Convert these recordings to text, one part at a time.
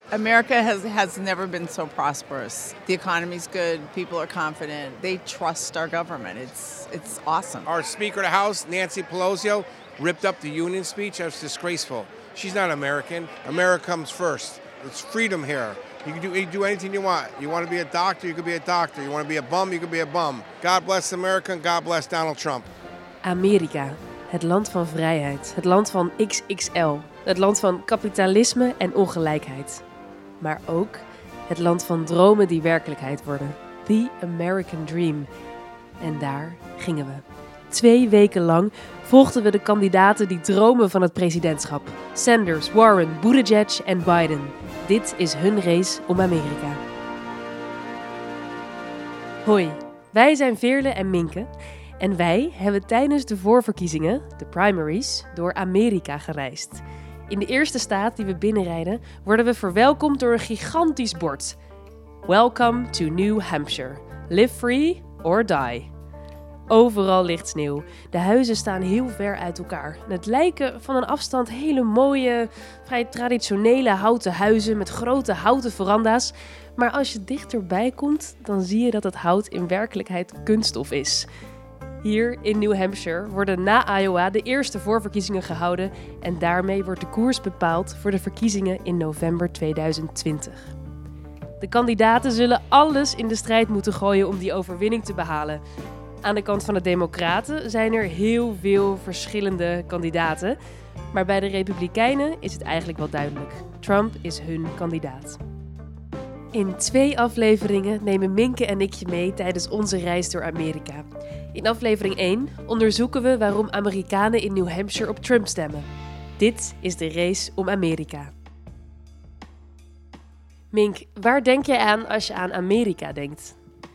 America has never been so prosperous. The economy's good, people are confident, they trust our government. It's awesome. Our Speaker of the House, Nancy Pelosi, ripped up the Union speech. That was disgraceful. She's not American. America comes first. It's freedom here. You can do anything you want. You want to be a doctor, you can be a doctor. You want to be a bum, you can be a bum. God bless America and God bless Donald Trump. Amerika, het land van vrijheid, het land van XXL, het land van kapitalisme en ongelijkheid. Maar ook het land van dromen die werkelijkheid worden. The American Dream. En daar gingen we. 2 weken lang volgden we de kandidaten die dromen van het presidentschap. Sanders, Warren, Buttigieg en Biden. Dit is hun race om Amerika. Hoi, wij zijn Veerle en Minke. En wij hebben tijdens de voorverkiezingen, de primaries, door Amerika gereisd. In de eerste staat die we binnenrijden worden we verwelkomd door een gigantisch bord. Welcome to New Hampshire. Live free or die. Overal ligt sneeuw. De huizen staan heel ver uit elkaar. En het lijken van een afstand hele mooie, vrij traditionele houten huizen met grote houten veranda's. Maar als je dichterbij komt, dan zie je dat het hout in werkelijkheid kunststof is. Hier in New Hampshire worden na Iowa de eerste voorverkiezingen gehouden en daarmee wordt de koers bepaald voor de verkiezingen in november 2020. De kandidaten zullen alles in de strijd moeten gooien om die overwinning te behalen. Aan de kant van de Democraten zijn er heel veel verschillende kandidaten, maar bij de Republikeinen is het eigenlijk wel duidelijk. Trump is hun kandidaat. In 2 afleveringen nemen Minke en ik je mee tijdens onze reis door Amerika. In aflevering 1 onderzoeken we waarom Amerikanen in New Hampshire op Trump stemmen. Dit is de race om Amerika. Mink, waar denk jij aan als je aan Amerika denkt?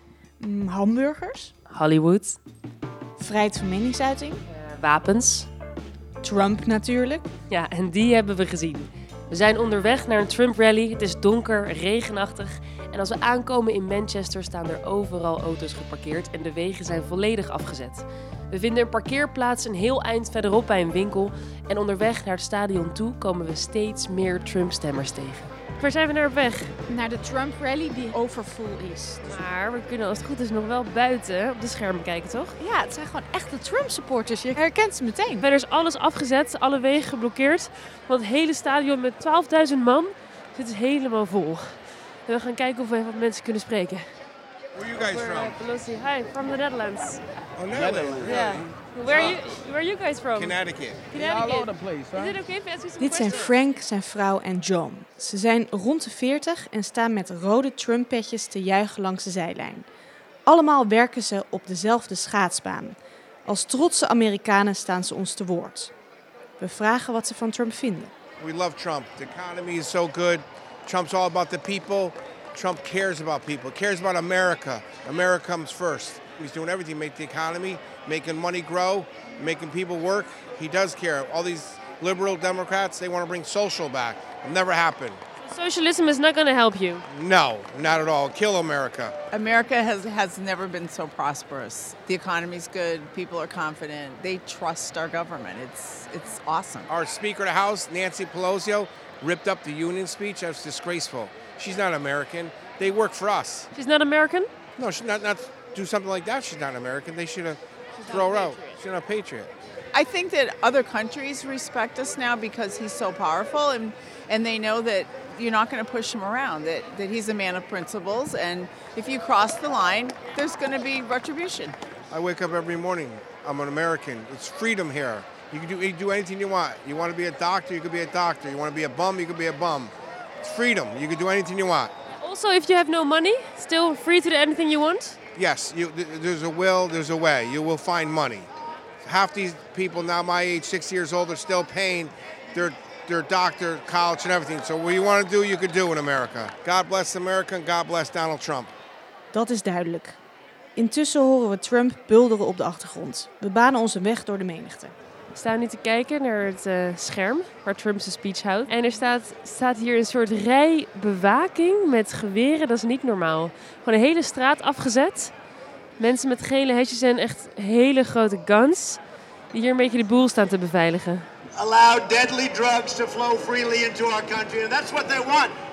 Hamburgers. Hollywood. Vrijheid van meningsuiting. Wapens. Trump natuurlijk. Ja, en die hebben we gezien. We zijn onderweg naar een Trump-rally. Het is donker, regenachtig. En als we aankomen in Manchester staan er overal auto's geparkeerd en de wegen zijn volledig afgezet. We vinden een parkeerplaats een heel eind verderop bij een winkel. En onderweg naar het stadion toe komen we steeds meer Trump-stemmers tegen. Waar zijn we naar op weg? Naar de Trump Rally die overfull is. Maar we kunnen als het goed is nog wel buiten op de schermen kijken, toch? Ja, het zijn gewoon echte Trump supporters. Je herkent ze meteen. Verder is alles afgezet, alle wegen geblokkeerd. Want het hele stadion met 12.000 man zit dus helemaal vol. En we gaan kijken of we even wat mensen kunnen spreken. Where are you guys from? Pelosi. Hi, from the Netherlands. Oh, Netherlands. Yeah. Where are you guys from? Connecticut. All over the place, Is it okay if I ask you some Dit zijn questions? Frank, zijn vrouw en John. Ze zijn rond de 40 en staan met rode Trump-petjes te juichen langs de zijlijn. Allemaal werken ze op dezelfde schaatsbaan. Als trotse Amerikanen staan ze ons te woord. We vragen wat ze van Trump vinden. We love Trump. The economy is so good. Trump's all about the people. Trump cares about people. Cares about America. America comes first. He's doing everything to make the economy, making money grow, making people work. He does care. All these liberal Democrats, they want to bring social back. It'll never happen. Socialism is not going to help you. No, not at all. Kill America. America has never been so prosperous. The economy's good, people are confident, they trust our government. It's awesome. Our Speaker of the House, Nancy Pelosi, ripped up the Union speech. That was disgraceful. She's not American. They work for us. She's not American? No, she's not do something like that. She's not American. They should have throw her out. She's not a patriot. I think that other countries respect us now because he's so powerful and they know that you're not going to push him around, that he's a man of principles, and if you cross the line, there's going to be retribution. I wake up every morning. I'm an American. It's freedom here. You can do anything you want. You want to be a doctor, you can be a doctor. You want to be a bum, you can be a bum. It's freedom. You can do anything you want. Also, if you have no money, still free to do anything you want? Yes, there's a will, there's a way. You will find money. Half these people now my age, 60 years old, are still paying their doctor, college and everything. So what you want to do, you can do in America. God bless America and God bless Donald Trump. Dat is duidelijk. Intussen horen we Trump bulderen op de achtergrond. We banen onze weg door de menigte. We staan nu te kijken naar het scherm waar Trump zijn speech houdt. En er staat hier een soort rij bewaking met geweren. Dat is niet normaal. Gewoon een hele straat afgezet. Mensen met gele hesjes en echt hele grote guns. Die hier een beetje de boel staan te beveiligen. Allow deadly drugs to flow freely into our country. And that's what they want.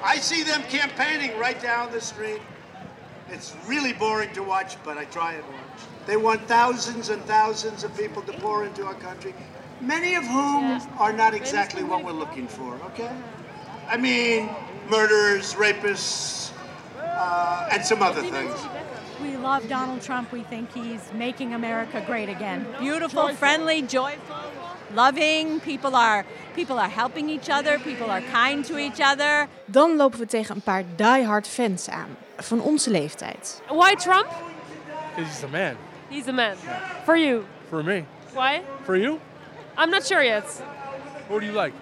I see them campaigning right down the street. It's really boring to watch, but I try and watch. They want thousands and thousands of people to pour into our country, many of whom are not exactly what we're looking for, okay? I mean, murderers, rapists, and some other things. We love Donald Trump. We think he's making America great again. Beautiful, friendly, joyful, loving. People are helping each other. People are kind to each other. Dan lopen we tegen een paar diehard fans aan, van onze leeftijd. Why Trump? Because he's the man. He's the man. For you. For me. Why? For you? I'm not sure yet. Who do you like?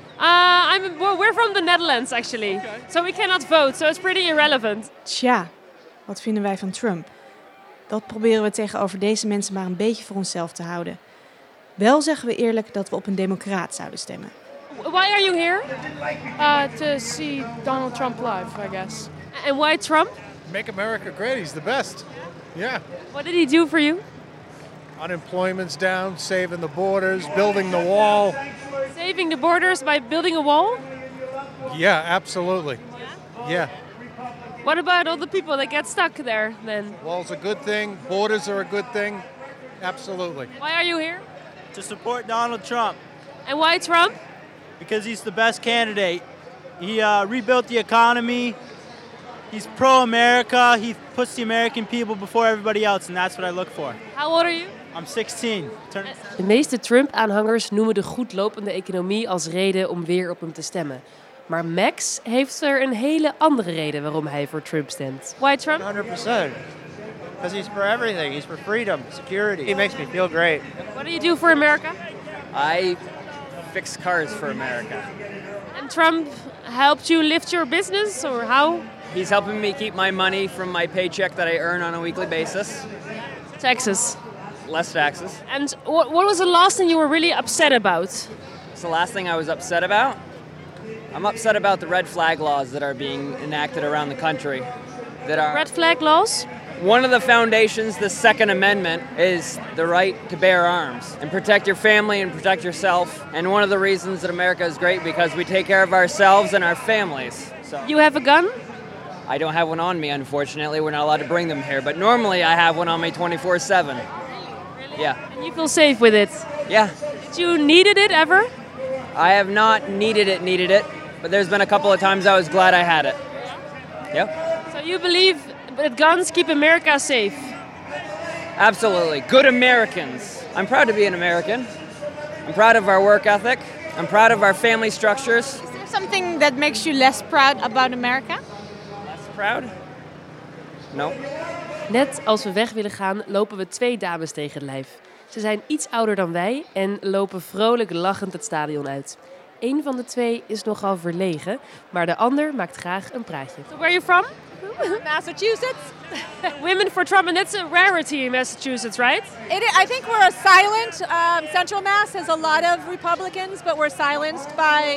We're from the Netherlands actually. Okay. So we cannot vote, so it's pretty irrelevant. Tja, wat vinden wij van Trump? Dat proberen we tegenover deze mensen maar een beetje voor onszelf te houden. Wel zeggen we eerlijk dat we op een democraat zouden stemmen. Why are you here? To see Donald Trump live, I guess. And why Trump? Make America great. He's the best. Yeah. What did he do for you? Unemployment's down, saving the borders, building the wall. Saving the borders by building a wall? Yeah, absolutely. Yeah. What about all the people that get stuck there then? Wall's a good thing. Borders are a good thing. Absolutely. Why are you here? To support Donald Trump. And why Trump? Because he's the best candidate. He rebuilt the economy. He's pro-America. He puts the American people before everybody else, and that's what I look for. How old are you? I'm 16. De meeste Trump-aanhangers noemen de goed lopende economie als reden om weer op hem te stemmen. Maar Max heeft er een hele andere reden waarom hij voor Trump stemt. Why Trump? 100%. Because he's for everything. He's for freedom, security. He makes me feel great. What do you do for America? I fix cars for America. And Trump helped you lift your business, or how? He's helping me keep my money from my paycheck that I earn on a weekly basis. Taxes. Less taxes. And what was the last thing you were really upset about? What's the last thing I was upset about? I'm upset about the red flag laws that are being enacted around the country. Red flag laws? One of the foundations, the Second Amendment, is the right to bear arms and protect your family and protect yourself. And one of the reasons that America is great because we take care of ourselves and our families. So You have a gun? I don't have one on me, unfortunately. We're not allowed to bring them here. But normally I have one on me 24/7. Yeah. And you feel safe with it? Yeah. Did you needed it ever? I have not needed it. But there's been a couple of times I was glad I had it. Yep. So you believe that guns keep America safe? Absolutely. Good Americans. I'm proud to be an American. I'm proud of our work ethic. I'm proud of our family structures. Is there something that makes you less proud about America? Less proud? No. Net als we weg willen gaan, lopen we twee dames tegen het lijf. Ze zijn iets ouder dan wij en lopen vrolijk lachend het stadion uit. Eén van de twee is nogal verlegen, maar de ander maakt graag een praatje. So where are you from? Massachusetts. Women for Trump, and that's a rarity in Massachusetts, right? I think we're a silent. Central Mass has a lot of Republicans, but we're silenced by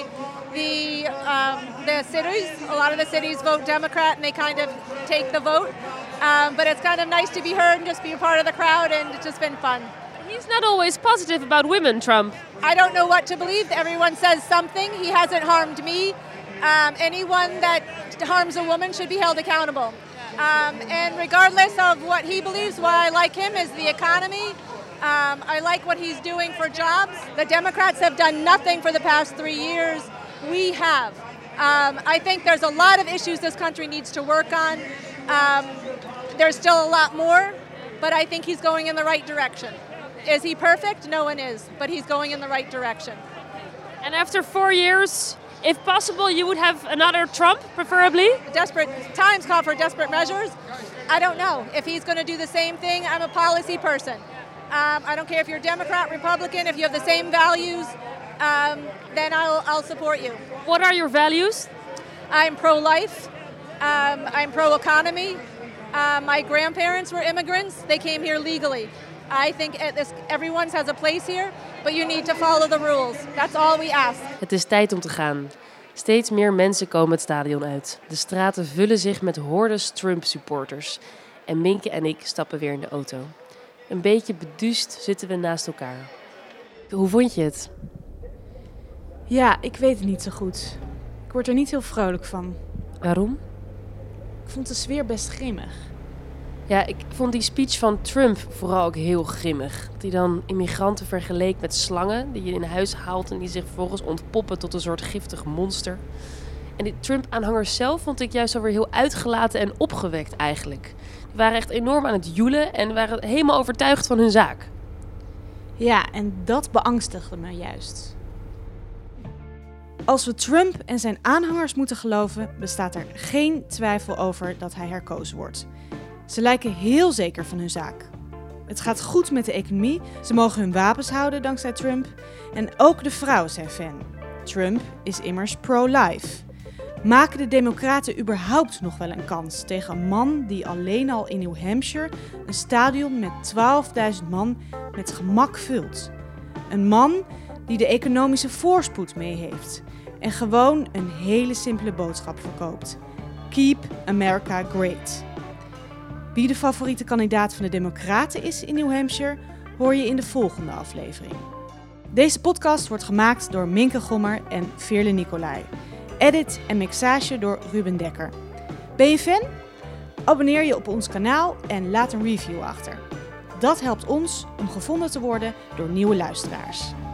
the cities. A lot of the cities vote Democrat, and they kind of take the vote. But it's kind of nice to be heard and just be a part of the crowd, and it's just been fun. He's not always positive about women, Trump. I don't know what to believe. Everyone says something. He hasn't harmed me. Anyone that harms a woman should be held accountable. And regardless of what he believes, why I like him is the economy. I like what he's doing for jobs. The Democrats have done nothing for the past 3 years. We have. I think there's a lot of issues this country needs to work on. There's still a lot more, but I think he's going in the right direction. Is he perfect? No one is, but he's going in the right direction. And after 4 years, if possible, you would have another Trump, preferably? Desperate times call for desperate measures. I don't know if he's going to do the same thing. I'm a policy person. I don't care if you're Democrat, Republican, if you have the same values, then I'll support you. What are your values? I'm pro-life. I'm pro-economy. My grandparents were immigrants. They came here legally. I think everyone has a place here, but you need to follow the rules. That's all we ask. Het is tijd om te gaan. Steeds meer mensen komen het stadion uit. De straten vullen zich met hordes Trump-supporters. En Minke en ik stappen weer in de auto. Een beetje beduust zitten we naast elkaar. Hoe vond je het? Ja, ik weet het niet zo goed. Ik word er niet heel vrolijk van. Waarom? Ik vond de sfeer best grimmig. Ja, ik vond die speech van Trump vooral ook heel grimmig. Dat hij dan immigranten vergeleek met slangen die je in huis haalt en die zich vervolgens ontpoppen tot een soort giftig monster. En die Trump-aanhangers zelf vond ik juist alweer heel uitgelaten en opgewekt eigenlijk. Die waren echt enorm aan het joelen en waren helemaal overtuigd van hun zaak. Ja, en dat beangstigde me juist. Als we Trump en zijn aanhangers moeten geloven, bestaat er geen twijfel over dat hij herkozen wordt. Ze lijken heel zeker van hun zaak. Het gaat goed met de economie, ze mogen hun wapens houden dankzij Trump. En ook de vrouwen zijn fan. Trump is immers pro-life. Maken de Democraten überhaupt nog wel een kans tegen een man die alleen al in New Hampshire een stadion met 12.000 man met gemak vult? Een man die de economische voorspoed mee heeft en gewoon een hele simpele boodschap verkoopt. Keep America Great. Wie de favoriete kandidaat van de Democraten is in New Hampshire, hoor je in de volgende aflevering. Deze podcast wordt gemaakt door Minke Gommer en Veerle Nicolai. Edit en mixage door Ruben Dekker. Ben je fan? Abonneer je op ons kanaal en laat een review achter. Dat helpt ons om gevonden te worden door nieuwe luisteraars.